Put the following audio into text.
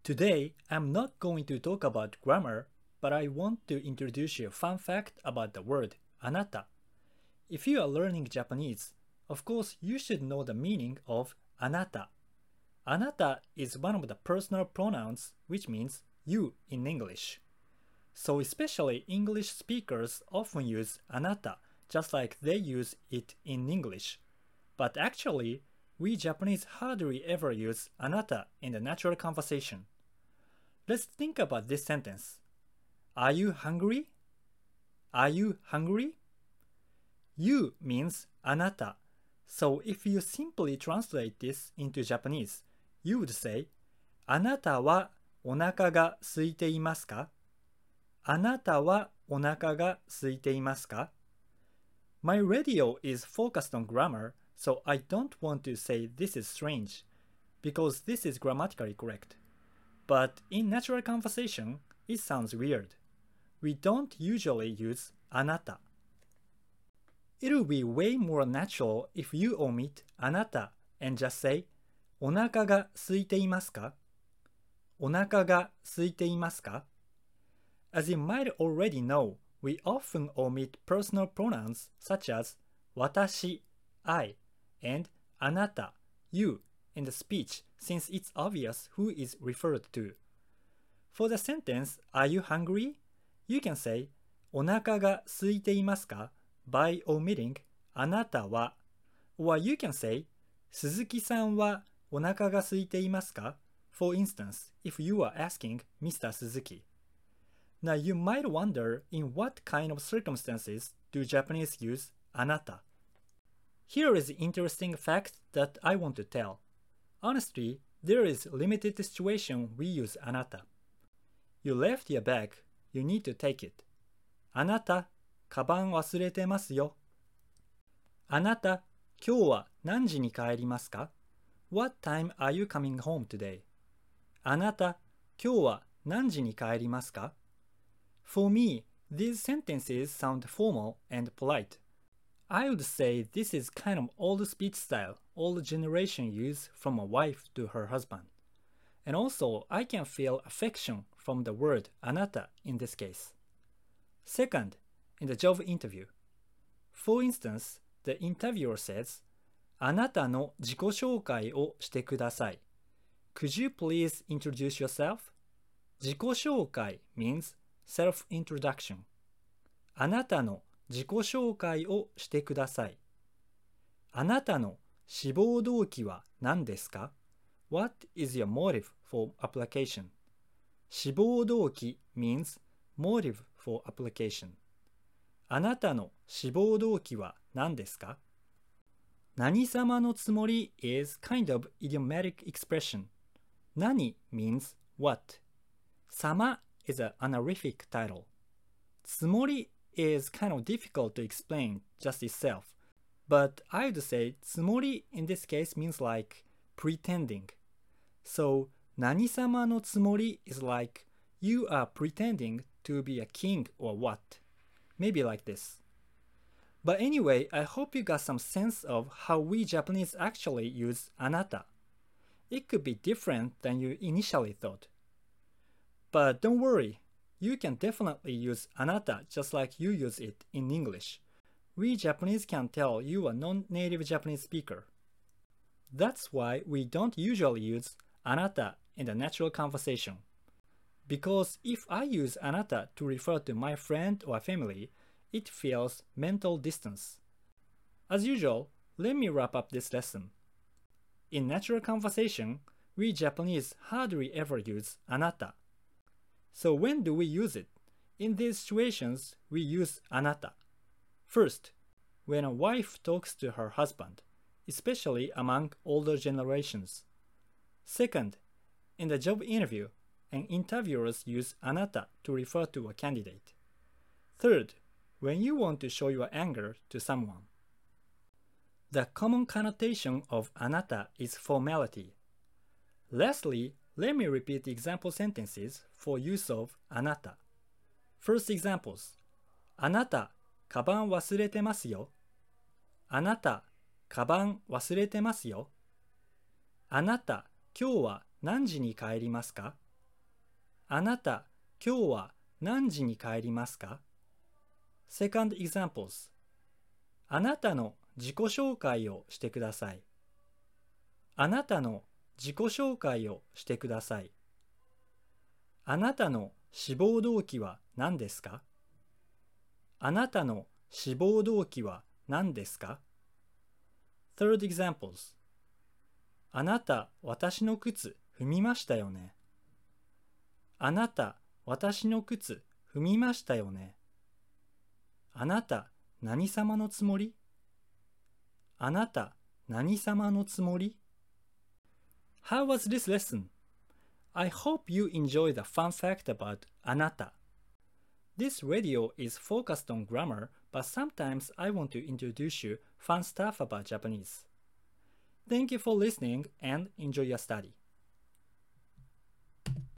Today, I'm not going to talk about grammar, but I want to introduce you a fun fact about the word anata. If you are learning Japanese, of course you should know the meaning of anata. Anata is one of the personal pronouns which means you in English. So especially English speakers often use anata just like they use it in English. But actually, we Japanese hardly ever use anata in the natural conversation. Let's think about this sentence. Are you hungry? Are you hungry? You means anata. So if you simply translate this into Japanese, you would say, あなたはお腹が空いていますか? あなたはお腹が空いていますか? My radio is focused on grammar, so I don't want to say this is strange, because this is grammatically correct. But in natural conversation, it sounds weird. We don't usually use あなた. It'll be way more natural if you omit あなた and just say お腹が空いていますか? お腹が空いていますか? As you might already know, we often omit personal pronouns such as 私, I, and あなた, you, in the speech since it's obvious who is referred to. For the sentence, Are you hungry? You can say お腹が空いていますか by omitting あなたは or you can say 鈴木さんはお腹が空いていますか for instance, if you are asking Mr. Suzuki. Now you might wonder in what kind of circumstances do Japanese use あなた. Here is an interesting fact that I want to tell. Honestly, there is limited situation we use あなた. You left your bag, you need to take it. あなた、カバン忘れてますよ。あなた、今日は何時に帰りますか? What time are you coming home today? あなた、今日は何時に帰りますか? For me, these sentences sound formal and polite. I would say this is kind of old speech style old generation use from a wife to her husband. And also, I can feel affection from the word あなた in this case. Second, in the job interview. For instance, the interviewer says, あなたの自己紹介をしてください. Could you please introduce yourself? 自己紹介 means self-introduction. あなたの自己紹介をしてください。あなたの志望動機は何ですか? What is your motive for application? 志望動機 means motive for application. あなたの志望動機は何ですか? 何様のつもり is kind of idiomatic expression. 何 means what. 様 is an honorific title. つもり is kind of difficult to explain just itself. But I would say つもり in this case means like pretending. So 何様のつもり is like you are pretending to be a king or what. Maybe like this. But anyway, I hope you got some sense of how we Japanese actually use あなた. It could be different than you initially thought. But don't worry, you can definitely use あなた just like you use it in English. We Japanese can tell you are a non-native Japanese speaker. That's why we don't usually use あなた in the natural conversation. Because if I use あなた to refer to my friend or family, it feels mental distance. As usual, let me wrap up this lesson. In natural conversation, we Japanese hardly ever use あなた. So when do we use it? In these situations, we use あなた. First, when a wife talks to her husband, especially among older generations. Second, in the job interview, and interviewers use あなた to refer to a candidate. Third, when you want to show your anger to someone. The common connotation of あなた is formality. Lastly, let me repeat the example sentences for use of あなた. First examples. あなた、カバン忘れてますよ。あなた、カバン忘れてますよ。あなた、今日は何時に帰りますか? あなた、今日は何時に帰りますか？ Second examples. あなたの自己紹介をしてください。あなたの自己紹介をしてください。あなたの志望動機は何ですか？あなたの志望動機は何ですか？ Third examples. あなた、私の靴踏みましたよね。あなた、私の靴踏みましたよね。あなた、何様のつもり？あなた、何様のつもり？ How was this lesson? I hope you enjoy the fun fact about あなた。This radio is focused on grammar, but sometimes I want to introduce you fun stuff about Japanese. Thank you for listening and enjoy your study.